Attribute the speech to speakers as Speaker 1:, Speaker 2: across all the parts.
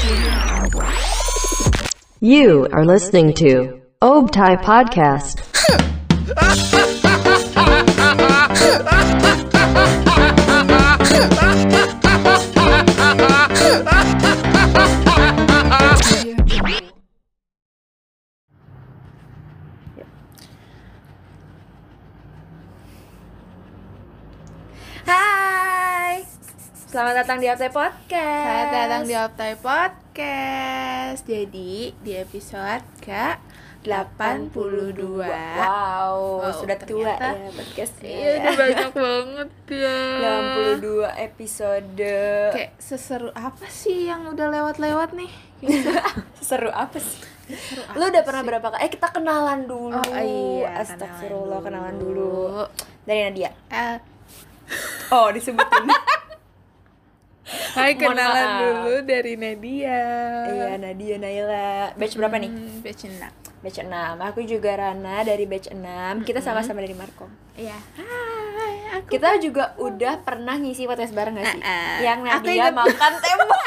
Speaker 1: You are listening to Obtai Podcast.
Speaker 2: Hai, selamat datang di Obtai Podcast.
Speaker 3: Selamat datang di Obtai Podcast. Jadi di episode ke 82.
Speaker 2: Wow, sudah tua
Speaker 3: ternyata.
Speaker 2: ya podcastnya.
Speaker 3: Iya, udah banyak banget ya.
Speaker 2: 82 episode.
Speaker 3: Kayak seseru apa sih yang udah lewat-lewat nih?
Speaker 2: Seru apa sih?
Speaker 3: Seseru apa
Speaker 2: Lu udah pernah
Speaker 3: sih?
Speaker 2: berapa kali? Kita kenalan dulu.
Speaker 3: Oh iya,
Speaker 2: Astagfirullah, kenalan dulu. Dari Nadia.
Speaker 3: Eh,
Speaker 2: Oh, disebutin.
Speaker 3: Hai,
Speaker 2: Mohon
Speaker 3: kenalan
Speaker 2: maaf.
Speaker 3: dulu dari Nadia.
Speaker 2: Iya, Nadia Naila. Batch berapa nih?
Speaker 3: Batch 6.
Speaker 2: Batch 6. Aku juga Rana dari batch 6. Kita sama-sama dari Markom.
Speaker 3: Iya. Hai, aku
Speaker 2: Kita juga udah pernah ngisi podcast bareng gak sih? Yang
Speaker 3: Aku
Speaker 2: Nadia
Speaker 3: ingat.
Speaker 2: makan tembok.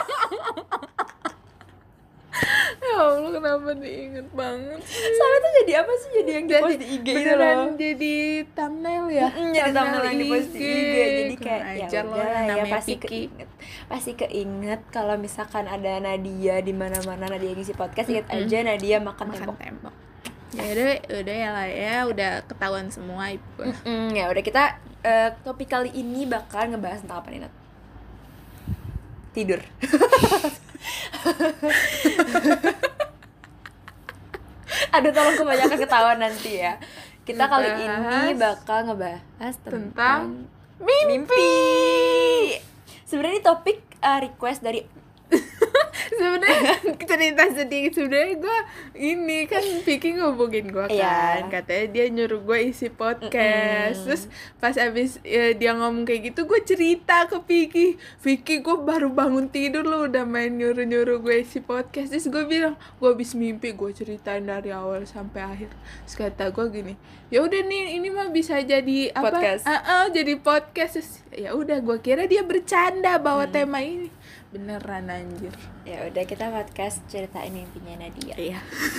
Speaker 3: ya Allah, kenapa diinget banget sih?
Speaker 2: Soalnya tuh jadi apa sih? Jadi yang di-post di IG itu
Speaker 3: beneran
Speaker 2: loh.
Speaker 3: jadi thumbnail ya.
Speaker 2: Jadi thumbnail yang di-post di IG. Jadi kayak ya
Speaker 3: ajar loh,
Speaker 2: udah lah ya
Speaker 3: namanya
Speaker 2: pasti
Speaker 3: Piki.
Speaker 2: keinget. Pasti keinget kalau misalkan ada Nadia di mana-mana, Nadia ngisi podcast, inget aja Nadia makan tembok.
Speaker 3: tembok. Ya udah ya lah ya, udah ketahuan semua ibu.
Speaker 2: Ya udah, kita topik kali ini bakal ngebahas tentang apa nih, Nat? Tidur. Aduh, tolong kebanyakan ketawa nanti ya. Kita kali ini bakal ngebahas tentang mimpi. Sebenarnya ini topik request dari
Speaker 3: Sebenarnya cerita sedikit, sebenarnya gue ini kan Vicky ngubungin gue kan,
Speaker 2: Iya.
Speaker 3: katanya dia nyuruh gue isi podcast. Terus pas abis dia ngomong kayak gitu, gue cerita ke Vicky gue baru bangun tidur lo udah main nyuruh gue isi podcast. Terus gue bilang gue abis mimpi, gue ceritain dari awal sampai akhir. Terus kata gue gini, ya udah nih ini mah bisa jadi apa?
Speaker 2: Podcast.
Speaker 3: Jadi podcast. Terus, ya udah, gue kira dia bercanda bawa tema ini, beneran anjir.
Speaker 2: Ya udah, kita podcast ceritain mimpinya Nadia.
Speaker 3: Iya.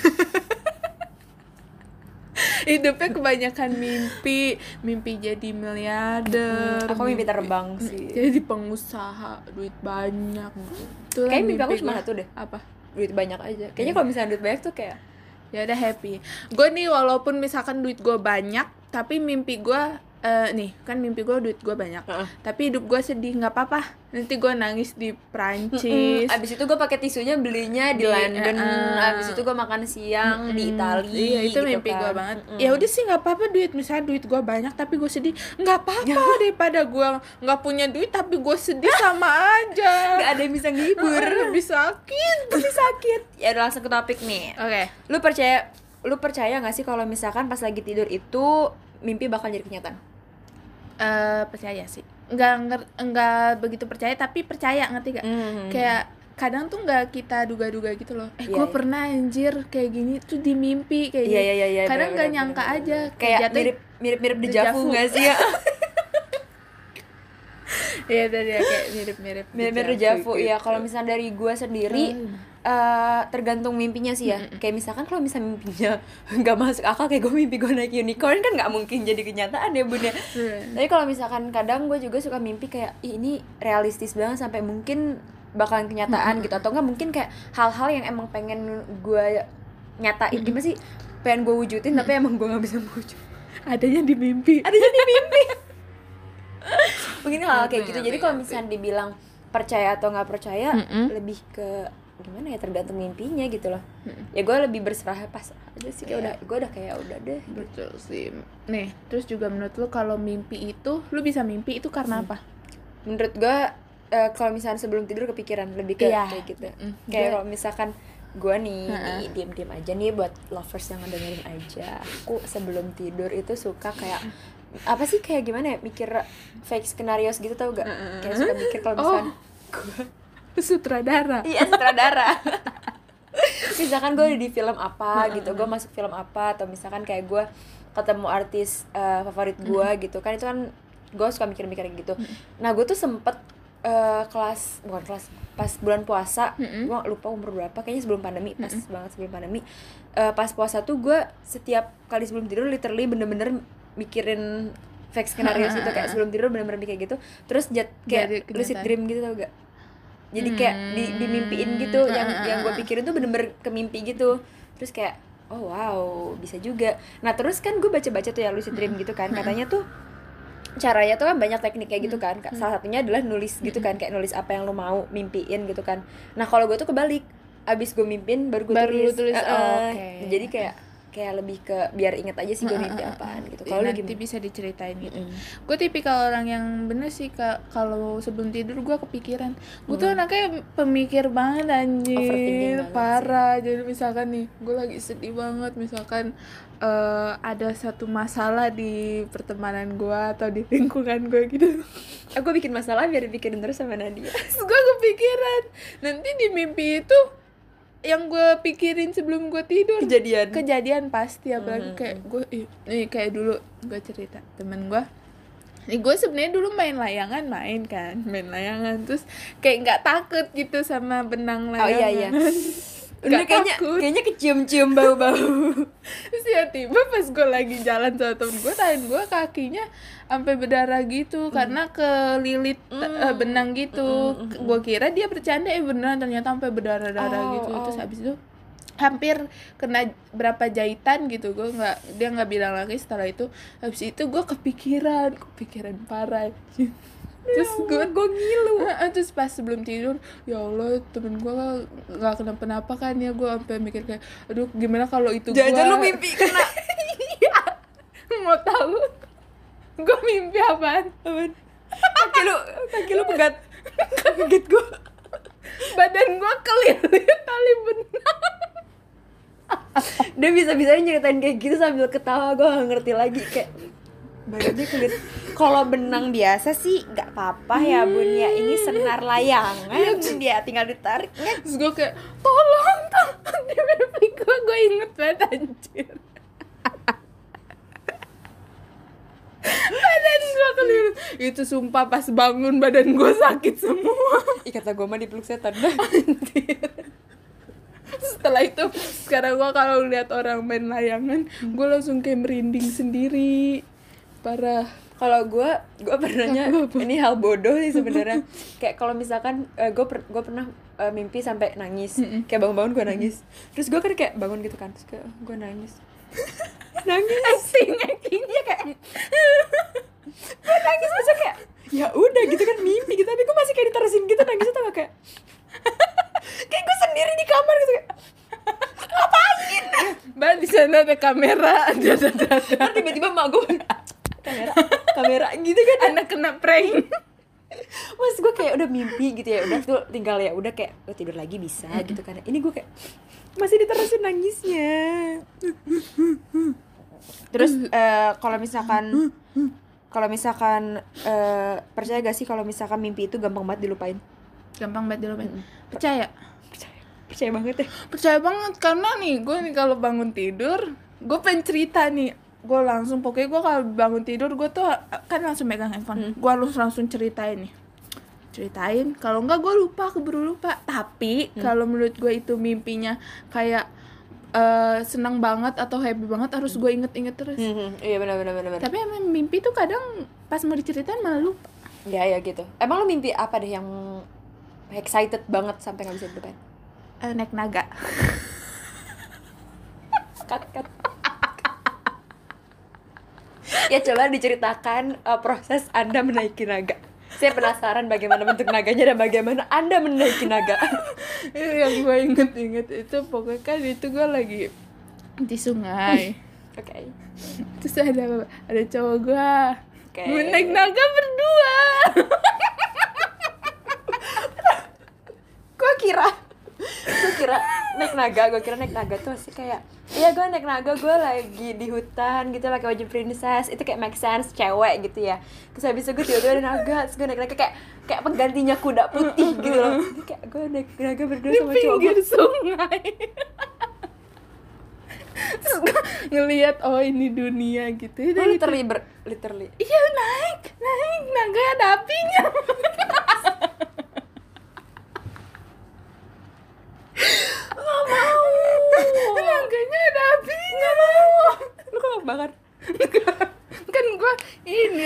Speaker 3: Hidupnya kebanyakan mimpi jadi miliarder.
Speaker 2: Aku mimpi terbang sih.
Speaker 3: Jadi pengusaha, duit banyak. Itulah
Speaker 2: Kayaknya mimpi aku
Speaker 3: gue.
Speaker 2: cuma satu deh.
Speaker 3: Apa?
Speaker 2: Duit banyak aja. Kayaknya kalau misalnya duit banyak tuh kayak
Speaker 3: Ya udah happy. Gue nih walaupun misalkan duit gue banyak, tapi mimpi gue nih kan mimpi gue duit gue banyak, tapi hidup gue sedih, nggak apa-apa. Nanti gue nangis di Prancis.
Speaker 2: abis itu gue pakai tisunya belinya di London. Abis itu gue makan siang di Italia.
Speaker 3: Iya, itu
Speaker 2: gitu
Speaker 3: mimpi
Speaker 2: kan.
Speaker 3: gue banget. Ya udah sih, nggak apa-apa duit, misalnya duit gue banyak tapi gue sedih, nggak apa-apa. Daripada gue nggak punya duit tapi gue sedih, sama aja.
Speaker 2: Gak ada yang bisa ngehibur.
Speaker 3: Lebih sakit.
Speaker 2: Lebih sakit. Ya udah, langsung ke topik nih.
Speaker 3: Oke.
Speaker 2: Lu percaya nggak sih kalau misalkan pas lagi tidur itu mimpi bakal jadi kenyataan?
Speaker 3: Percaya sih. Nggak begitu percaya, tapi percaya, ngerti gak? Kayak kadang tuh nggak kita duga-duga gitu loh.
Speaker 2: Iya,
Speaker 3: Gue
Speaker 2: iya.
Speaker 3: pernah anjir kayak gini tuh di mimpi kayak
Speaker 2: Iya,
Speaker 3: gini.
Speaker 2: iya, iya,
Speaker 3: Kadang nggak
Speaker 2: bener,
Speaker 3: nyangka
Speaker 2: bener,
Speaker 3: aja.
Speaker 2: Kayak
Speaker 3: jatuh-
Speaker 2: mirip
Speaker 3: deja
Speaker 2: dejavu
Speaker 3: vu.
Speaker 2: nggak sih ya?
Speaker 3: Iya tadi ya, kayak mirip-mirip
Speaker 2: Mirip dejavu. Iya, kalau misalnya dari gue sendiri tergantung mimpinya sih ya. Kayak misalkan kalau misalnya mimpinya nggak masuk akal, kayak gue mimpi gue naik unicorn, kan nggak mungkin jadi kenyataan ya bun ya. Tapi kalau misalkan kadang gue juga suka mimpi kayak, "Ih, ini realistis banget sampai mungkin bakalan kenyataan gitu." Atau enggak mungkin kayak hal-hal yang emang pengen gue nyatain, gimana sih, pengen gue wujudin tapi emang gue nggak bisa wujud.
Speaker 3: adanya di mimpi.
Speaker 2: Mungkin hal kayak gitu. Jadi kalau misalnya dibilang percaya atau nggak percaya, lebih ke gimana ya, tergantung mimpinya gitu loh. Ya gue lebih berserah pas aja sih, kayak udah kayak udah deh.
Speaker 3: Betul sih. Nih, terus juga menurut lu kalau mimpi itu, lu bisa mimpi itu karena apa?
Speaker 2: Menurut gue kalau misalnya sebelum tidur kepikiran, lebih ke
Speaker 3: Iya.
Speaker 2: kayak gitu. Kayak kalau misalkan gue nih diam-diam aja nih, buat lovers yang ngedengerin aja, aku sebelum tidur itu suka kayak apa sih, kayak gimana ya, mikir fake scenarios gitu, tau gak? Kayak suka mikir kalau misalkan
Speaker 3: Sutradara.
Speaker 2: Iya, sutradara. Misalkan gue di film apa gitu, gue masuk film apa, atau misalkan kayak gue ketemu artis favorit gue gitu kan, itu kan gue suka mikir-mikir gitu. Nah, gue tuh sempet pas bulan puasa, gue lupa umur berapa, kayaknya sebelum pandemi, pas banget sebelum pandemi. Pas puasa tuh gue setiap kali sebelum tidur literally bener-bener mikirin fake skenario itu, kayak sebelum tidur bener-bener kayak gitu. Terus kayak lucid dream gitu, tau gak? Jadi kayak dimimpiin gitu, yang gue pikirin tuh bener-bener ke mimpi gitu. Terus kayak oh wow, bisa juga. Nah terus kan gue baca-baca tuh ya lucid dream gitu kan, katanya tuh caranya tuh kan banyak teknik kayak gitu kan. Salah satunya adalah nulis gitu kan, kayak nulis apa yang lo mau mimpiin gitu kan. Nah kalau gue tuh kebalik, abis gue mimpin baru gue tulis. Jadi kayak lebih ke biar inget aja sih gue mimpi apaan gitu. Kalau
Speaker 3: nanti bisa diceritain gitu. Gue tipikal orang yang bener sih, kalau sebelum tidur gue kepikiran. Gue tuh anaknya pemikir banget anjir, parah. Jadi misalkan nih gue lagi sedih banget, misalkan ada satu masalah di pertemanan gue atau di lingkungan gue gitu.
Speaker 2: Aku bikin masalah biar dipikirin terus sama Nadia.
Speaker 3: Terus gue kepikiran, nanti di mimpi itu yang gue pikirin sebelum gue tidur kejadian pasti. Apalagi kayak gue nih, kayak dulu gue cerita temen gue nih, gue sebenarnya dulu main layangan terus kayak nggak takut gitu sama benang layangan.
Speaker 2: Udah kayaknya kecium-cium bau-bau.
Speaker 3: Terus tiba pas gue lagi jalan sama temen gue, tangan gue kakinya sampai berdarah gitu karena kelilit benang gitu. Gue kira dia bercanda, beneran ternyata sampai berdarah-darah gitu. Terus habis itu hampir kena berapa jahitan gitu. Dia nggak bilang lagi. Setelah itu habis itu gue kepikiran parah. Terus gue ngilu. Terus pas sebelum tidur, ya Allah, temen gue nggak kenapa-napa kan ya. Gue sampai mikir kayak, aduh gimana kalau itu gue.
Speaker 2: Jangan lu mimpi kena.
Speaker 3: Iya. Mau tahu? Gue mimpi apaan?
Speaker 2: Kaki lu pegat gue.
Speaker 3: Badan gue kelilit tali benang.
Speaker 2: Dia bisa-bisanya nyeritain kayak gitu sambil ketawa. Gue gak ngerti lagi, kayak badannya kulit. Kalau benang biasa sih nggak apa-apa ya bun ya, ini senar layangan dia tinggal ditarik.
Speaker 3: Terus gue kayak tolong di mimpi gue inget banget anjir. Badan gue kelilit. Itu sumpah pas bangun badan gue sakit semua.
Speaker 2: Kata gue mah dipeluk setan.
Speaker 3: Setelah itu sekarang gue kalau lihat orang main layangan, gue langsung kayak merinding sendiri. Parah.
Speaker 2: Kalau gue pernahnya ini hal bodoh sih sebenarnya. Kayak kalau misalkan gue pernah mimpi sampai nangis. Kayak bangun-bangun gue nangis. Terus gue kan kayak bangun gitu kan, terus kayak gue nangis.
Speaker 3: Acting dia kayak
Speaker 2: gue nangis, masa kayak ya udah gitu kan mimpi gitu, tapi gue masih kayak diterusin gitu nangisnya, tau gak kayak kayak gue sendiri di kamar gitu kayak ngapain?
Speaker 3: Mbak di sana ada kamera, ada.
Speaker 2: Tiba-tiba mak gue kamera gitu kan,
Speaker 3: anak kena prank.
Speaker 2: Mas gue kayak udah mimpi gitu ya, udah tuh tinggal ya udah kayak lo tidur lagi bisa gitu kan. Ini gue kayak masih diterusin nangisnya. Terus kalau misalkan percaya gak sih kalau misalkan mimpi itu gampang banget dilupain?
Speaker 3: Gampang banget dilupain. Percaya
Speaker 2: banget ya.
Speaker 3: Percaya banget karena nih gue nih kalau bangun tidur, gue pengen cerita nih. Gue langsung, pokoknya gue kalau bangun tidur gue tuh kan langsung megang handphone. Gue harus langsung ceritain nih. Kalau enggak gue keburu lupa. Tapi kalau menurut gue itu mimpinya kayak senang banget atau happy banget, harus gue inget-inget terus.
Speaker 2: Iya benar.
Speaker 3: Tapi emang mimpi tuh kadang pas mau diceritain malah lupa.
Speaker 2: Ya gitu. Emang lo mimpi apa deh yang excited banget sampai nggak bisa dilupain?
Speaker 3: Naik naga.
Speaker 2: Cut. Ya coba diceritakan proses Anda menaiki naga. Saya penasaran bagaimana bentuk naganya dan bagaimana Anda menaiki naga.
Speaker 3: Yang gue inget itu pokoknya kan itu gue lagi di sungai.
Speaker 2: Oke.
Speaker 3: Terus ada cowok gue naik naga berdua.
Speaker 2: Gue kira naik naga tuh sih kayak, iya gue naik naga, gue lagi di hutan gitu pakai baju princess, itu kayak make sense, cewek gitu ya. Terus habis itu gue tiba-tiba ada naga, terus gue naik naga kayak penggantinya kuda putih gitu loh. Jadi kayak gue naik naga berdua sama cowok
Speaker 3: di pinggir sungai. Terus gue ngeliat, oh ini dunia gitu.
Speaker 2: Literally.
Speaker 3: Iya naik naga ada apinya.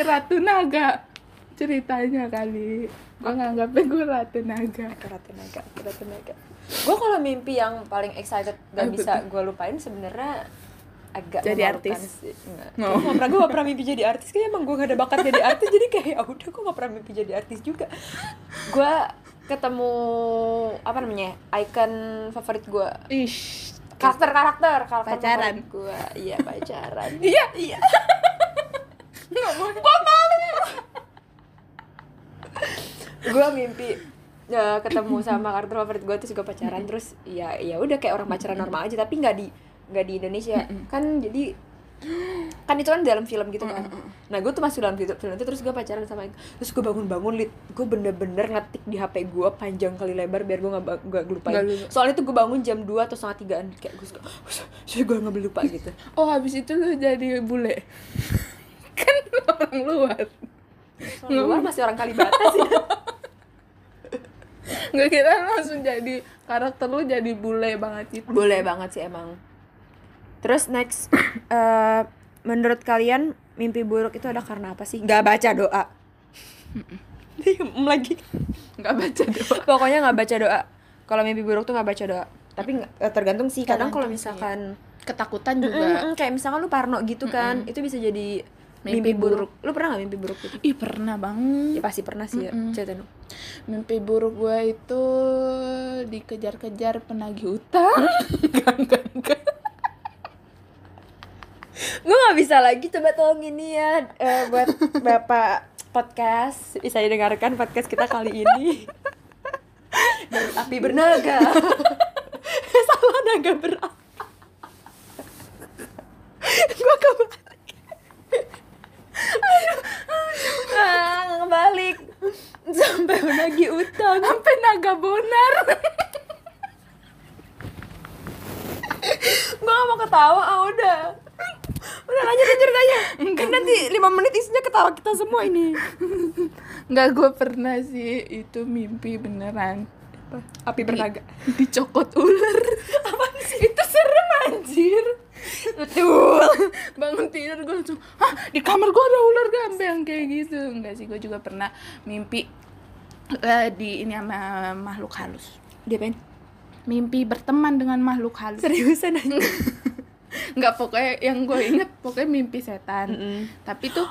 Speaker 3: Ratu Naga ceritanya kali. Gue nganggapnya gue Ratu Naga.
Speaker 2: Ratu Naga. Gue kalau mimpi yang paling excited gak bisa gue lupain sebenarnya agak
Speaker 3: jadi
Speaker 2: memalukan
Speaker 3: artis
Speaker 2: sih. Gue gak pernah mimpi jadi artis. Kayak emang gue gak ada bakat jadi artis. Jadi kayak ya udah gue gak pernah mimpi jadi artis juga. Gue ketemu apa namanya icon favorit gue, karakter
Speaker 3: pacaran
Speaker 2: gue. Iya pacaran.
Speaker 3: iya
Speaker 2: Gue malu. Gue mimpi ketemu sama karakter favorit gue terus gue pacaran terus ya udah kayak orang pacaran normal aja tapi nggak di Indonesia kan. Jadi kan itu kan dalam film gitu kan. Nah gue tuh masuk dalam film itu terus gue pacaran sama terus gue bangun gue bener-bener ngetik di HP gue panjang kali lebar biar gue nggak lupain. Soalnya tuh gue bangun jam 2 atau 2:30 kayak gue nggak lupa gitu.
Speaker 3: Oh habis itu lu jadi bule kan orang luar.
Speaker 2: Luar masih orang Kalibata sih.
Speaker 3: Nggak, kita langsung jadi karakter lu jadi bule banget itu.
Speaker 2: Boleh banget sih emang. Terus next, menurut kalian mimpi buruk itu ada karena apa sih? Gak baca doa. Diem lagi.
Speaker 3: Nggak baca doa.
Speaker 2: Pokoknya gak baca doa. Kalau mimpi buruk tuh gak baca doa. Tapi tergantung sih. Kadang kalau misalkan
Speaker 3: ketakutan juga.
Speaker 2: kayak misalkan lu parno gitu kan, itu bisa jadi mimpi buruk. Lu pernah gak mimpi buruk gitu?
Speaker 3: Ih pernah banget.
Speaker 2: Ya pasti pernah sih ya. Ceritain dong.
Speaker 3: Mimpi buruk gue itu dikejar-kejar penagih utang. Enggak.
Speaker 2: Gue gak bisa lagi, coba tolong ini ya buat Bapak podcast bisa didengarkan podcast kita kali ini. Dari api bernaga. Salah naga berapi. Gue kebalik. Ngebalik sampai menagih utang,
Speaker 3: Sampai naga bonar.
Speaker 2: gue gak mau ketawa. Udah lanjut ceritanya. Kan nanti 5 menit isinya ketawa kita semua ini.
Speaker 3: Enggak, gue pernah sih itu mimpi beneran.
Speaker 2: Api bernaga.
Speaker 3: Dicokot ular.
Speaker 2: Apaan sih?
Speaker 3: Itu serem anjir.
Speaker 2: Betul.
Speaker 3: Bangun tidur gue langsung, hah di kamar gue ada ular gambang kayak gitu. Enggak sih, gue juga pernah mimpi di ini sama makhluk halus.
Speaker 2: Diapain?
Speaker 3: Mimpi berteman dengan makhluk halus.
Speaker 2: Seriusan aja.
Speaker 3: Enggak, pokoknya yang gue inget pokoknya mimpi setan. Tapi tuh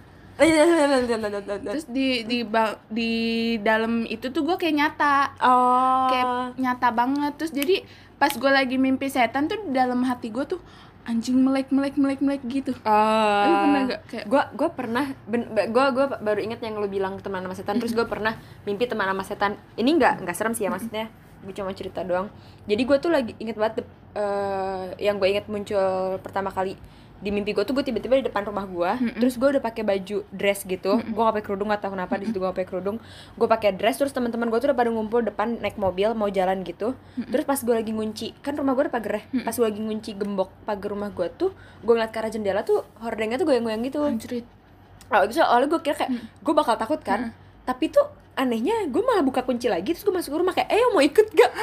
Speaker 3: terus di dalam itu tuh gue kayak nyata. Kayak nyata banget. Terus jadi pas gue lagi mimpi setan tuh dalam hati gue tuh anjing melek gitu. Lu pernah gak kayak
Speaker 2: gue pernah gue baru inget yang lu bilang teman sama setan. Terus gue pernah mimpi teman sama setan. Ini nggak serem sih ya, maksudnya gue cuma cerita doang. Jadi gue tuh lagi inget banget yang gue inget muncul pertama kali di mimpi gue tuh gue tiba-tiba di depan rumah gue. Terus gue udah pakai baju dress gitu. Gue gak pakai kerudung, gak tahu kenapa di situ gue gak pakai kerudung. Gue pakai dress, terus teman-teman gue tuh udah pada ngumpul depan naik mobil mau jalan gitu. Terus pas gue lagi ngunci, kan rumah gue ada pagar ya. Pas gue lagi ngunci gembok pagar rumah gue tuh, gue ngeliat ke arah jendela tuh hordengnya tuh goyang-goyang gitu.
Speaker 3: anjrit.
Speaker 2: Terus awalnya gue kira kayak gue bakal takut kan. Tapi tuh anehnya gue malah buka kunci lagi. Terus gue masuk ke rumah kayak mau ikut gak?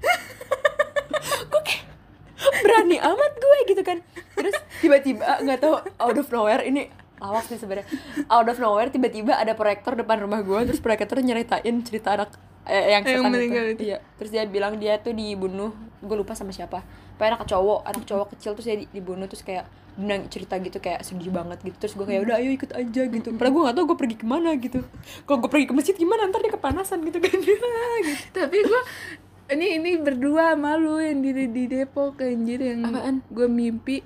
Speaker 2: Gue kayak berani amat gue gitu kan. Terus tiba-tiba nggak tahu out of nowhere, ini lawak sih sebenarnya, out of nowhere tiba-tiba ada proyektor depan rumah gue. Terus proyektor nyeritain cerita anak yang setan itu. Iya. Terus dia bilang dia tuh dibunuh, gue lupa sama siapa. Pokoknya anak cowok kecil terus dia dibunuh. Terus kayak cerita gitu kayak sedih banget gitu. Terus gue kayak udah ayo ikut aja gitu. Padahal gue nggak tahu gue pergi kemana gitu. Kalau gue pergi ke masjid gimana, ntar dia kepanasan gitu kan. Gitu.
Speaker 3: Tapi gue ini berdua malu yang di Depok anjir, yang gue mimpi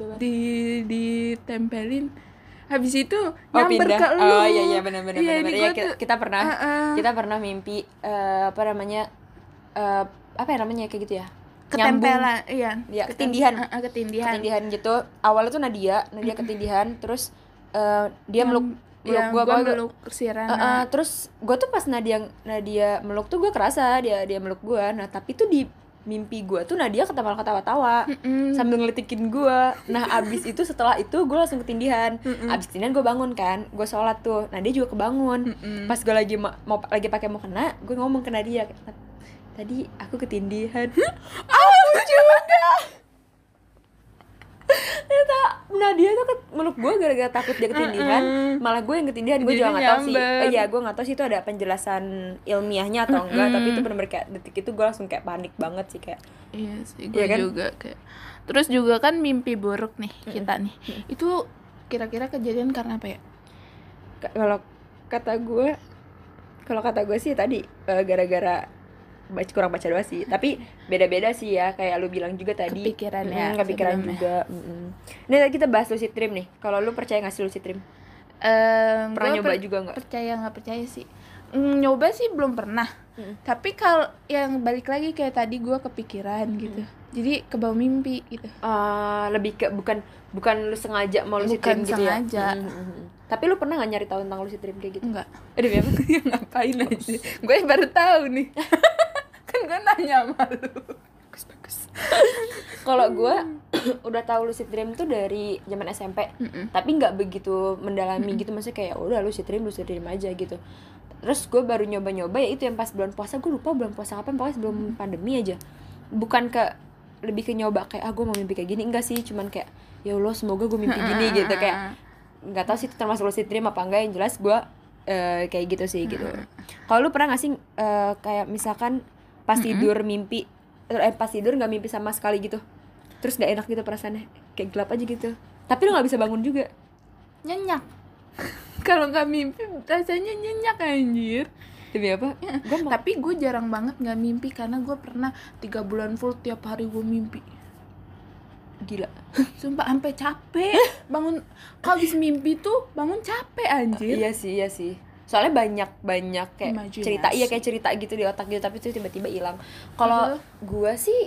Speaker 3: ditempelin habis itu nyamper ke lu.
Speaker 2: Oh iya benar.
Speaker 3: Iya,
Speaker 2: Ya, kita pernah mimpi apa namanya kayak gitu ya.
Speaker 3: Ketempelan,
Speaker 2: iya. Ketindihan gitu. Awalnya tuh Nadia ketindihan, terus dia meluk
Speaker 3: si Rana.
Speaker 2: Terus gue tuh pas Nadia meluk tuh gue kerasa dia meluk gue. Nah tapi tuh di mimpi gue tuh Nadia ketawa-tawa sambil ngelitikin gue. Nah abis itu setelah itu gue langsung ketindihan. Abis ketindihan gue bangun kan, gue sholat tuh. Nadia juga kebangun. Pas gue lagi pakai mau kena, gue ngomong ke Nadia, tadi aku ketindihan. Aku juga. Ternyata Nadia tuh meluk gue gara-gara takut dia ketindihan, malah gue yang ketindihan. Gue
Speaker 3: Jadi
Speaker 2: juga nggak tahu sih.
Speaker 3: nyamber.
Speaker 2: Iya, gue nggak tahu sih itu ada penjelasan ilmiahnya atau enggak, tapi itu benar-benar kayak detik itu gue langsung kayak panik banget sih kayak.
Speaker 3: Iya sih, gue
Speaker 2: Iya kan?
Speaker 3: juga kayak. Terus juga kan mimpi buruk nih kita nih. Itu kira-kira kejadian karena apa ya?
Speaker 2: Kalau kata gue sih tadi gara-gara kurang baca doa sih, tapi beda-beda sih ya, kayak lu bilang juga tadi
Speaker 3: Kepikiran ya,
Speaker 2: kepikiran
Speaker 3: sebelumnya.
Speaker 2: juga. Ini tadi kita bahas lucid dream nih. Kalau lu percaya nggak sih lucid dream? Pernah
Speaker 3: Gua
Speaker 2: nyoba juga nggak?
Speaker 3: Percaya nggak percaya sih. Nyoba sih belum pernah. Tapi kalau yang balik lagi kayak tadi gue kepikiran gitu. Jadi kebawa mimpi gitu.
Speaker 2: Lebih ke bukan lu sengaja mau lucid
Speaker 3: Bukan
Speaker 2: dream gitu ya?
Speaker 3: sengaja.
Speaker 2: Tapi lu pernah nggak nyari tahu tentang lucid dream kayak gitu?
Speaker 3: Enggak.
Speaker 2: Demi apa?
Speaker 3: Ngapain aja? Gue baru tahu nih. Kan gue nanya sama lu. Bagus.
Speaker 2: Kalau gue udah tahu lucid dream tuh dari zaman SMP, tapi nggak begitu mendalami gitu, maksudnya kayak udah lucid dream aja gitu. Terus gue baru nyoba ya itu yang pas bulan puasa, gue lupa bulan puasa kapan, pokoknya sebelum pandemi aja. Bukan lebih ke nyoba kayak gue mau mimpi kayak gini, enggak sih, cuman kayak ya Allah semoga gue mimpi gini gitu, kayak nggak tahu sih itu termasuk lucid dream apa enggak, yang jelas gue kayak gitu sih gitu. Kalau lu pernah nggak sih kayak misalkan pas tidur mimpi pas tidur nggak mimpi sama sekali gitu, terus nggak enak gitu perasaannya, kayak gelap aja gitu, tapi lu nggak bisa bangun juga?
Speaker 3: Nyenyak. Kalau nggak mimpi rasanya nyenyak anjir.
Speaker 2: Demi apa?
Speaker 3: Tapi gue jarang banget nggak mimpi karena gue pernah 3 bulan full tiap hari gue mimpi.
Speaker 2: Gila.
Speaker 3: Sumpah sampai capek bangun. Kalau habis mimpi tuh bangun capek anjir.
Speaker 2: Iya sih. Soalnya banyak kayak
Speaker 3: Imajinasi.
Speaker 2: kayak cerita gitu di otak gitu, tapi itu tiba-tiba hilang. Kalau gue sih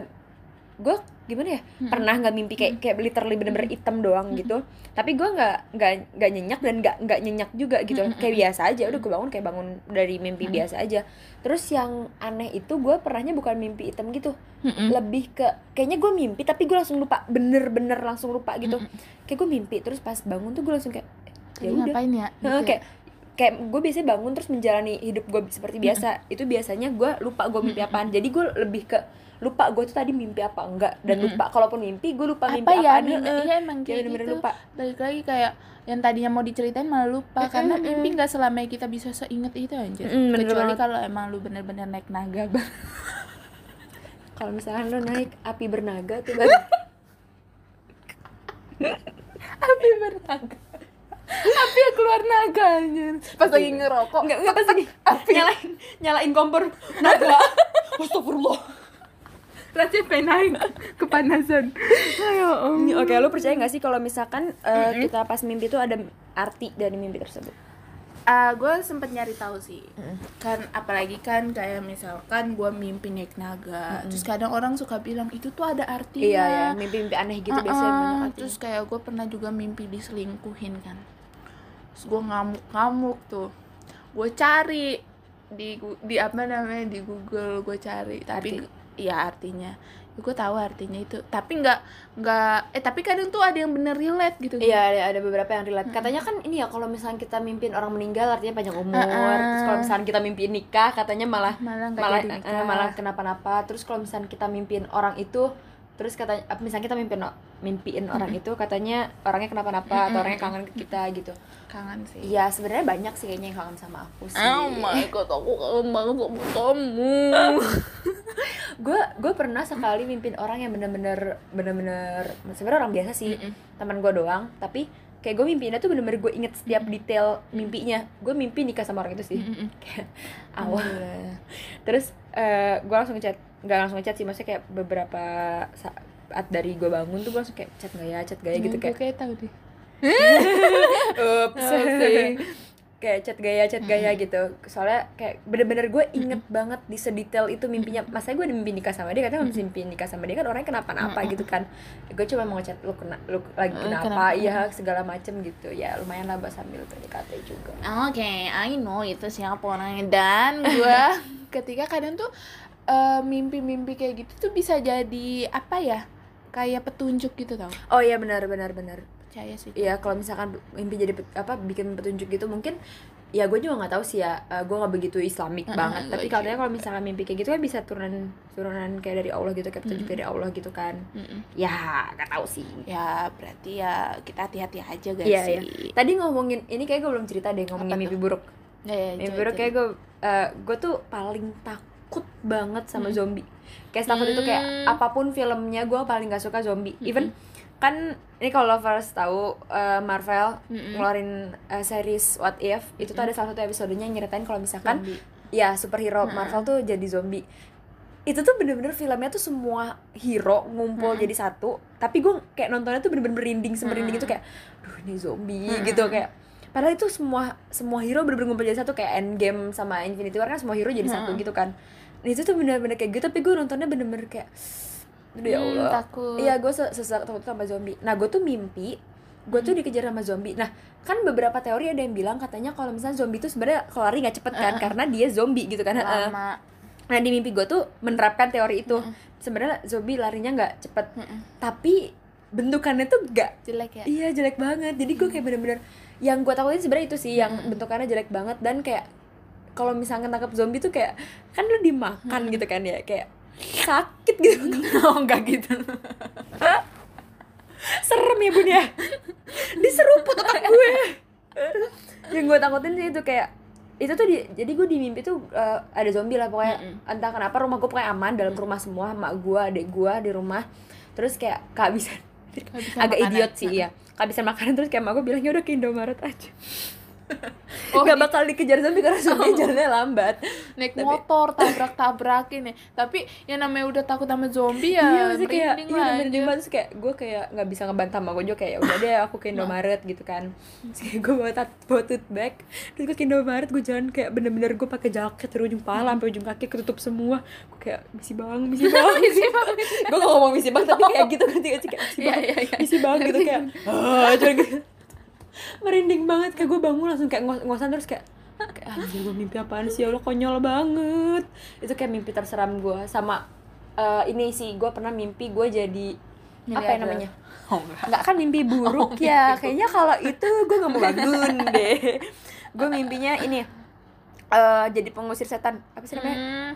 Speaker 2: gue gimana ya, pernah nggak mimpi kayak literally bener-bener hitam doang gitu, tapi gue nggak nyenyak dan nggak nyenyak juga gitu, kayak biasa aja, udah gue bangun kayak bangun dari mimpi biasa aja. Terus yang aneh itu gue pernahnya bukan mimpi hitam gitu, lebih ke kayaknya gue mimpi tapi gue langsung lupa, bener-bener langsung lupa gitu. Kayak gue mimpi terus pas bangun tuh gue langsung kayak ya
Speaker 3: Tadi
Speaker 2: udah
Speaker 3: ngapain ya? Gitu ya?
Speaker 2: kayak gue biasanya bangun terus menjalani hidup gue seperti biasa. Itu biasanya gue lupa gue mimpi apaan, jadi gue lebih ke lupa gue tuh tadi mimpi apa enggak, dan lupa kalaupun mimpi gue lupa mimpi
Speaker 3: ya,
Speaker 2: apaan.
Speaker 3: iya emang kayak
Speaker 2: bener-bener
Speaker 3: gitu.
Speaker 2: lupa.
Speaker 3: Balik lagi kayak yang tadinya mau diceritain malah lupa, karena mimpi nggak selamanya kita bisa seinget itu anjir.
Speaker 2: Bener
Speaker 3: Kecuali
Speaker 2: banget.
Speaker 3: kalau emang lu bener-bener naik naga.
Speaker 2: Kalau misalkan lo naik api bernaga tuh baru
Speaker 3: Api bernaga. Api yang keluar naga anjir. Pas lagi ngerokok.
Speaker 2: enggak pas ini nyalain kompor naga. Astagfirullah.
Speaker 3: Rasanya pengen naik kepanasan. Ayo
Speaker 2: Oke, lo percaya nggak sih kalau misalkan kita pas mimpi tuh ada arti dari mimpi tersebut?
Speaker 3: Gue sempet nyari tahu sih. Kan apalagi kan kayak misalkan gue mimpi naik naga, terus kadang orang suka bilang itu tuh ada artinya.
Speaker 2: Iya ya, mimpi-mimpi aneh gitu biasanya banyak artinya.
Speaker 3: Terus kayak gue pernah juga mimpi diselingkuhin kan. Terus gue ngamuk tuh. Gue cari di apa namanya, di Google gue cari, tapi iya artinya gue tahu artinya itu, tapi nggak tapi kadang tuh ada yang bener relate gitu.
Speaker 2: Iya, ada beberapa yang relate. Katanya kan ini ya, kalau misalnya kita mimpiin orang meninggal artinya panjang umur. Terus kalau misalnya kita mimpiin nikah katanya malah
Speaker 3: nggak jadi nikah.
Speaker 2: malah kenapa-napa. Terus kalau misalnya kita mimpiin orang itu, terus katanya misalnya kita mimpiin orang itu katanya orangnya kenapa-napa atau orangnya kangen ke kita gitu.
Speaker 3: Kangen sih.
Speaker 2: Iya, sebenarnya banyak sih kayaknya yang kangen sama aku sih.
Speaker 3: Oh my god, aku kangen banget sama kamu.
Speaker 2: Gue pernah sekali mimpin orang yang bener-bener sebenarnya orang biasa sih, teman gue doang, tapi kayak gue mimpiinnya tuh bener-bener gue inget setiap detail mimpinya. Gue mimpi nikah sama orang itu sih. Kayak awal. Terus gue langsung nggak langsung ngechat sih, maksudnya kayak beberapa saat dari gue bangun tuh gue langsung kayak chat gak ya gitu, kayak
Speaker 3: tahu deh.
Speaker 2: ups kayak chat gaya gitu. Soalnya kayak bener-bener gue inget banget di sedetail itu mimpinya. Masanya gue udah mimpi nikah sama dia, katanya masih mimpi nikah sama dia kan orangnya kenapa-napa gitu kan. Gue cuma mau ngechat lu lagi kenapa, iya segala macem gitu. Ya lumayan lah buat sambil PDKT juga.
Speaker 3: Oke, I know itu siapa orangnya. Dan gue ketika kadang tuh mimpi-mimpi kayak gitu tuh bisa jadi apa ya, kayak petunjuk gitu tau.
Speaker 2: Oh iya benar.
Speaker 3: Percaya sih.
Speaker 2: Iya, kalau misalkan mimpi jadi bikin petunjuk gitu, mungkin ya gue juga nggak tahu sih ya, gue nggak begitu Islamik banget, tapi katanya kalau misalnya mimpi kayak gitu kan bisa turunan kayak dari Allah gitu, kayak petunjuk dari Allah gitu kan. Ya nggak tahu sih.
Speaker 3: Ya berarti ya kita hati-hati aja guys
Speaker 2: Iya,
Speaker 3: sih.
Speaker 2: iya. Tadi ngomongin ini kayak gue belum cerita deh, ngomongin
Speaker 3: Apa
Speaker 2: mimpi
Speaker 3: tuh?
Speaker 2: buruk.
Speaker 3: Ya,
Speaker 2: Mimpi buruk kayak gue tuh paling takut banget sama zombie. Kayak takut itu kayak apapun filmnya gue paling gak suka zombie. Even kan ini kalau lovers tahu Marvel ngeluarin series What If, itu tuh ada salah satu episodenya yang nyeritain kalau misalkan
Speaker 3: Zombie.
Speaker 2: ya superhero Marvel tuh jadi zombie. Itu tuh bener-bener filmnya tuh semua hero ngumpul jadi satu, tapi gue kayak nontonnya tuh bener-bener merinding semerinding itu kayak duh ini zombie gitu, kayak padahal itu semua hero bener-bener ngumpul jadi satu, kayak Endgame sama Infinity War kan semua hero jadi satu gitu kan. Nah itu tuh bener-bener kayak gitu, tapi gue nontonnya bener-bener kayak aduh ya Allah,
Speaker 3: takut.
Speaker 2: iya gue takut sama zombie. Nah gue tuh mimpi gue tuh dikejar sama zombie. Nah kan beberapa teori ada yang bilang katanya kalau misalnya zombie tuh sebenarnya kalau lari nggak cepet kan, karena dia zombie gitu kan.
Speaker 3: Lama.
Speaker 2: Nah di mimpi gue tuh menerapkan teori itu. Sebenarnya zombie larinya nggak cepet, tapi bentukannya tuh nggak
Speaker 3: Jelek ya.
Speaker 2: iya jelek banget. Jadi gue kayak bener-bener yang gue takutin sebenarnya itu sih, yang bentukannya jelek banget. Dan kayak kalau misalnya nangkap zombie tuh kayak kan lu dimakan gitu kan ya, kayak sakit gitu.
Speaker 3: Oh enggak gitu.
Speaker 2: Serem ya bun ya, diseruput otak gue. Yang gue takutin sih itu kayak itu tuh jadi gue di mimpi tuh ada zombie lah pokoknya. Entah kenapa rumah gue pokoknya aman, dalam rumah semua, emak gue, adik gue di rumah. Terus kayak kehabisan agak
Speaker 3: makanan.
Speaker 2: idiot sih ya, kehabisan makanan. Terus kayak emak gue bilang ya udah ke Indomaret aja.
Speaker 3: Oh,
Speaker 2: Gak bakal dikejar zombie karena zombie jalannya lambat.
Speaker 3: Naik motor tabrak-tabrakin ya. Tapi yang namanya udah takut sama zombie
Speaker 2: Iya
Speaker 3: ya
Speaker 2: sih kayak
Speaker 3: merinding
Speaker 2: iya
Speaker 3: lah.
Speaker 2: merinding banget. Terus kayak gue kayak nggak bisa ngebantah sama gue juga, kayak udah deh aku ke Indomaret gitu kan. Terus kayak gue bawa tote bag, terus gue ke Indomaret, gue jalan kayak bener-bener gue pakai jaket dari ujung kepala sampai ujung kaki ketutup semua. Gue kayak misi bang gue gak ngomong misi bang tapi kayak gitu kan, kayak misi bang gitu kayak cuman gitu. Merinding banget, kayak gue bangun langsung kayak ngosan, terus kayak anjir gue mimpi apaan sih ya Allah, konyol banget. Itu kayak mimpi terseram gue. Sama ini sih, gue pernah mimpi gue jadi apa ya namanya? Enggak kan mimpi buruk ya. Kayaknya kalau itu gue gak mau bangun deh. Gue mimpinya ini jadi pengusir setan. Apa sih namanya?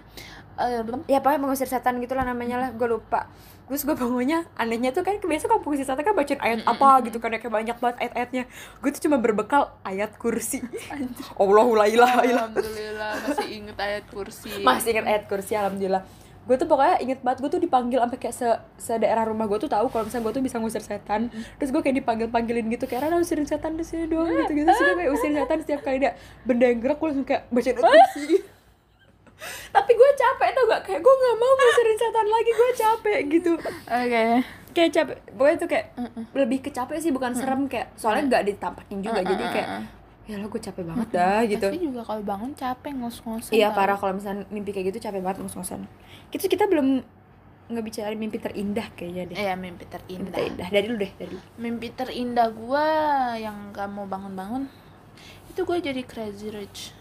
Speaker 2: Ya pokoknya pengusir setan gitulah namanya lah, gue lupa. Terus gue bangunnya anehnya tuh kan biasa kalau pengusir setan kan bacain ayat apa gitu kan, kayak banyak banget ayat-ayatnya. Gue tuh cuma berbekal ayat kursi. Allahu la ilaha illallah.
Speaker 3: Alhamdulillah masih inget ayat kursi.
Speaker 2: Masih inget ayat kursi, alhamdulillah. Gue tuh pokoknya inget banget, gue tuh dipanggil sampai kayak se-daerah rumah gue tuh tahu kalau misalnya gue tuh bisa ngusir setan. Terus gue kayak dipanggilin gitu, kayak Rana usirin setan di sini doang gitu. Terus gue kayak usirin setan, setiap kali ada benda yang gerak gue langsung kayak bacain ayat kursi. Tapi gue capek tau gak, kayak gue gak mau ngusirin setan lagi, gue capek gitu.
Speaker 3: Oke.
Speaker 2: Kayak capek, pokoknya tuh kayak lebih ke capek sih, bukan serem, kayak soalnya gak ditampakin juga, jadi kayak ya lah gue capek banget dah gitu.
Speaker 3: Tapi juga kalau bangun capek ngos-ngosan.
Speaker 2: Iya
Speaker 3: tau.
Speaker 2: parah, kalau misalnya mimpi kayak gitu capek banget ngos-ngosan. Kita belum ngebicarain mimpi terindah kayaknya deh.
Speaker 3: Iya mimpi terindah.
Speaker 2: Mimpi terindah dari lu deh, dari.
Speaker 3: Mimpi terindah gue yang gak mau bangun-bangun itu gue jadi crazy rich.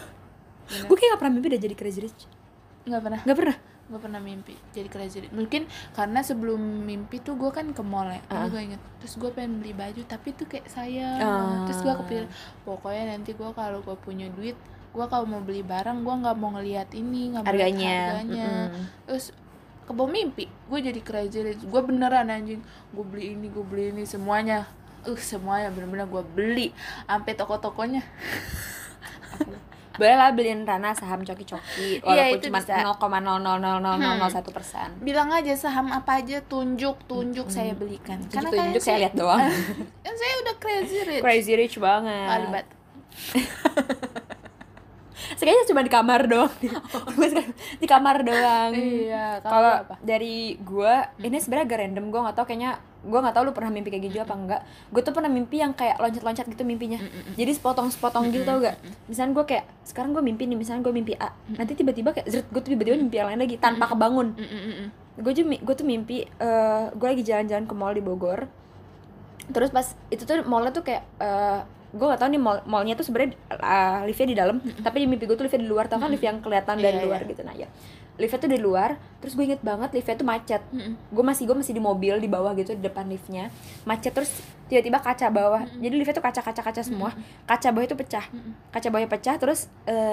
Speaker 2: Gue kayak gak pernah mimpi udah jadi crazy rich.
Speaker 3: Gak pernah. Gue pernah mimpi jadi crazy rich. Mungkin karena sebelum mimpi tuh gue kan ke mall ya. Gue inget. Terus gue pengen beli baju tapi tuh kayak sayang. Terus gue kepikir pokoknya nanti gue kalau gue punya duit, gue kalau mau beli barang gue nggak mau ngelihat ini, nggak mau lihat harganya. Terus kebawa mimpi gue jadi crazy rich. Gue beneran anjing, gue beli ini semuanya. Semuanya bener-bener gue beli sampai toko-tokonya.
Speaker 2: Boleh lah beliin Rana saham coki-coki walaupun
Speaker 3: itu
Speaker 2: cuma
Speaker 3: bisa.
Speaker 2: 0,00001%.
Speaker 3: Bilang aja saham apa aja, tunjuk saya belikan. Karena
Speaker 2: Tunjuk saya lihat doang.
Speaker 3: Kan saya udah crazy rich.
Speaker 2: Crazy rich banget.
Speaker 3: Alibat.
Speaker 2: Sekayaknya cuma di kamar doang. Di kamar doang.
Speaker 3: Iya,
Speaker 2: Kalau
Speaker 3: apa?
Speaker 2: dari gue ini sebenarnya agak random, gue nggak tahu, kayaknya gue nggak tahu lu pernah mimpi kayak gitu apa enggak. Gue tuh pernah mimpi yang kayak loncat-loncat gitu mimpinya. Jadi sepotong-sepotong gitu, tau gak? Misalnya gue kayak sekarang gue mimpi nih, misalnya gue mimpi A, nanti tiba-tiba kayak zret, gue tuh tiba-tiba mimpi yang lain lagi tanpa kebangun. Gue tuh mimpi gue lagi jalan-jalan ke mall di Bogor. Terus pas itu tuh mallnya tuh kayak gue gak tau nih mallnya tuh sebenarnya liftnya di dalam, tapi di mimpi gue tuh liftnya di luar, tau kan lift yang kelihatan dari luar gitu. Nah ya liftnya tuh di luar, terus gue inget banget liftnya tuh macet. Gue masih di mobil di bawah gitu, di depan liftnya macet, terus tiba-tiba kaca bawah, jadi liftnya tuh kaca semua, kaca bawah itu pecah, kaca bawahnya pecah, terus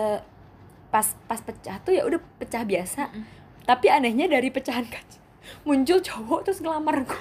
Speaker 2: pas pecah tuh ya udah pecah biasa, tapi anehnya dari pecahan kaca muncul cowok terus ngelamar gue.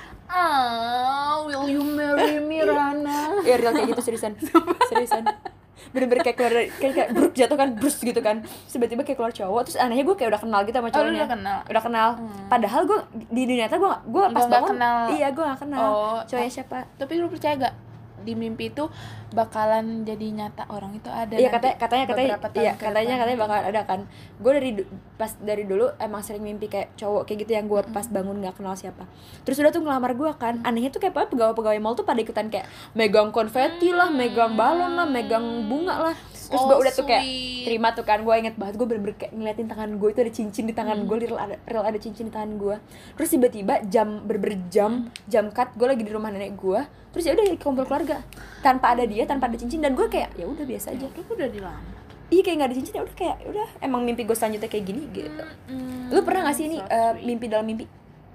Speaker 3: Will you marry me, Rana?
Speaker 2: Ya real kayak gitu, seriusan bener-bener kayak keluar kayak bruk jatuh kan, brus gitu kan, tiba-tiba kayak keluar cowok, terus anehnya gue kayak udah kenal gitu sama cowoknya. Udah kenal. Padahal gue di dunia nyata gue pas bangun
Speaker 3: kenal.
Speaker 2: Iya, gue gak kenal cowoknya siapa.
Speaker 3: Tapi lu percaya gak di mimpi itu bakalan jadi nyata orang itu ada?
Speaker 2: Iya, katanya bakalan ada kan. Gue dari dulu emang sering mimpi kayak cowok kayak gitu yang gue pas bangun gak kenal siapa. Terus udah tuh ngelamar gue kan. Anehnya tuh kayak pegawai mall tuh pada ikutan kayak megang konfeti lah, megang balon lah, megang bunga lah. Terus gue udah tuh kayak terima tuh kan. Gue inget banget, gue bener-bener kayak ngeliatin tangan gue itu ada cincin di tangan gue, real ada cincin di tangan gue. Terus tiba-tiba jam cut, gue lagi di rumah nenek gue. Terus ya udah kumpul keluarga tanpa ada dia, tanpa ada cincin, dan gue kayak ya udah biasa aja.
Speaker 3: Lu udah dilamar.
Speaker 2: Iya, kayak nggak ada cincin, ya udah kayak udah emang mimpi gue selanjutnya kayak gini gitu. Lu pernah nggak sih ini mimpi dalam mimpi?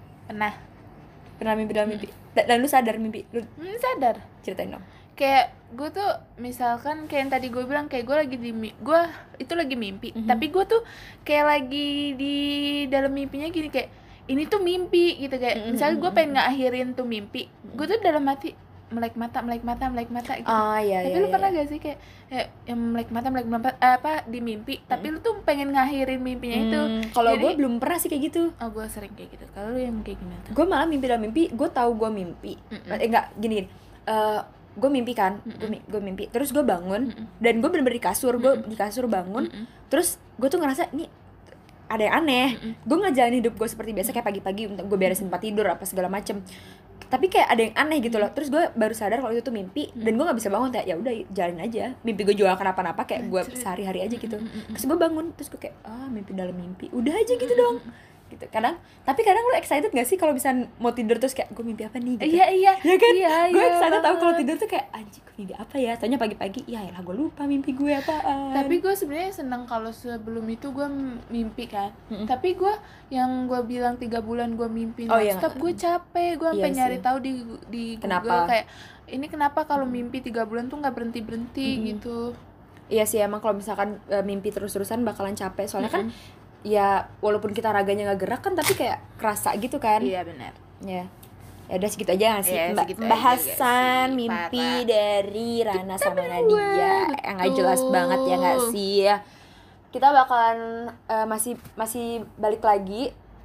Speaker 2: Pernah mimpi dalam mimpi? Dan lu sadar mimpi lu?
Speaker 3: Sadar.
Speaker 2: Ceritain dong.
Speaker 3: Kayak gue tuh misalkan kayak yang tadi gue bilang, kayak gue lagi gue itu lagi mimpi, tapi gue tuh kayak lagi di dalam mimpinya gini, kayak ini tuh mimpi gitu, kayak misalnya gue pengen ngakhirin tuh mimpi, gue tuh dalam hati melek mata gitu.
Speaker 2: Iya,
Speaker 3: tapi lu pernah gak sih kayak yang melek mata apa di mimpi, tapi lu tuh pengen ngakhirin mimpinya itu?
Speaker 2: Kalau gue belum pernah sih kayak gitu.
Speaker 3: Oh, gue sering kayak gitu. Kalau lu yang kayak gimana?
Speaker 2: Gue malah mimpi dalam mimpi, gue tahu gue mimpi. Enggak, gini. Gue mimpi kan, gue mimpi. Terus gue bangun dan gue bener-bener di kasur, bangun. Terus gue tuh ngerasa ini ada yang aneh. Gue ngejalanin hidup gue seperti biasa, kayak pagi-pagi untuk gue beresin tempat tidur apa segala macem. Tapi kayak ada yang aneh gitu loh. Terus gue baru sadar kalau itu tuh mimpi, dan gue nggak bisa bangun, kayak ya udah jalanin aja. Mimpi gue juga kenapa-napa, kayak gue sehari-hari aja gitu. Terus gue bangun, terus gue kayak mimpi dalam mimpi, udah aja gitu dong. Gitu. Tapi kadang lu excited gak sih kalau misalnya mau tidur terus kayak gue mimpi apa nih gitu?
Speaker 3: Iya
Speaker 2: kan? Gue excited tahu kalau tidur tuh kayak anjing, gue mimpi apa ya? Tanya pagi-pagi, ya elah gue lupa mimpi gue apaan.
Speaker 3: Tapi gue sebenarnya seneng kalau sebelum itu gue mimpi kan. Tapi gue yang gue bilang 3 bulan gue mimpi nonstop, gue capek, gue sampai nyari tahu di Google kayak ini kenapa kalau mimpi 3 bulan tuh nggak berhenti gitu.
Speaker 2: Iya sih, emang kalau misalkan mimpi terus-terusan bakalan capek, soalnya kan ya walaupun kita raganya nggak gerak kan, tapi kayak kerasa gitu kan.
Speaker 3: Iya benar.
Speaker 2: Ya udah segitu aja nggak sih
Speaker 3: aja
Speaker 2: bahasan mimpi dari Rana sama Nadia yang nggak jelas banget ya nggak sih ya. Kita bakalan masih balik lagi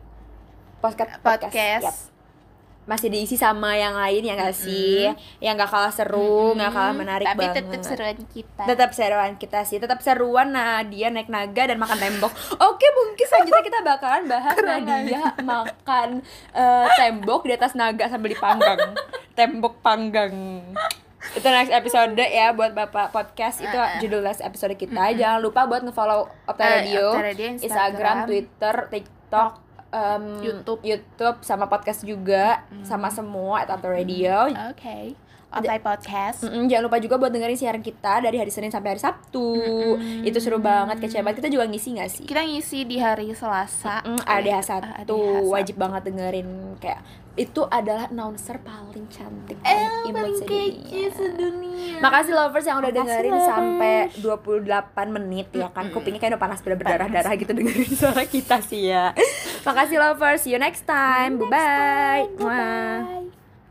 Speaker 2: podcast. Yep. Masih diisi sama yang lain ya nggak sih, yang nggak kalah seru, nggak kalah menarik
Speaker 3: tapi
Speaker 2: banget.
Speaker 3: Tapi
Speaker 2: tetap seruan kita sih, tetap seruan Nadia naik naga dan makan tembok. Oke, mungkin selanjutnya kita bakalan bahas Nadia makan tembok di atas naga sambil dipanggang. Tembok panggang. Itu next episode ya buat Bapak Podcast. Itu judul next episode kita. Jangan lupa buat nge-follow Opta Radio, Instagram, Twitter, TikTok, YouTube sama podcast juga, sama semua Opta Radio.
Speaker 3: Oke. Opta Podcast.
Speaker 2: Jangan lupa juga buat dengerin siaran kita dari hari Senin sampai hari Sabtu. Itu seru banget, kece banget. Kita juga ngisi nggak sih?
Speaker 3: Kita ngisi di hari Selasa.
Speaker 2: ADH1 wajib banget dengerin. Kayak itu adalah announcer paling cantik, paling imut sedunia. Makasih lovers yang udah dengerin sampai 28 menit ya kan. Kupingnya kayak udah panas, berdarah-darah gitu dengerin suara kita sih ya. Makasih lovers, see you next time. Bye-bye.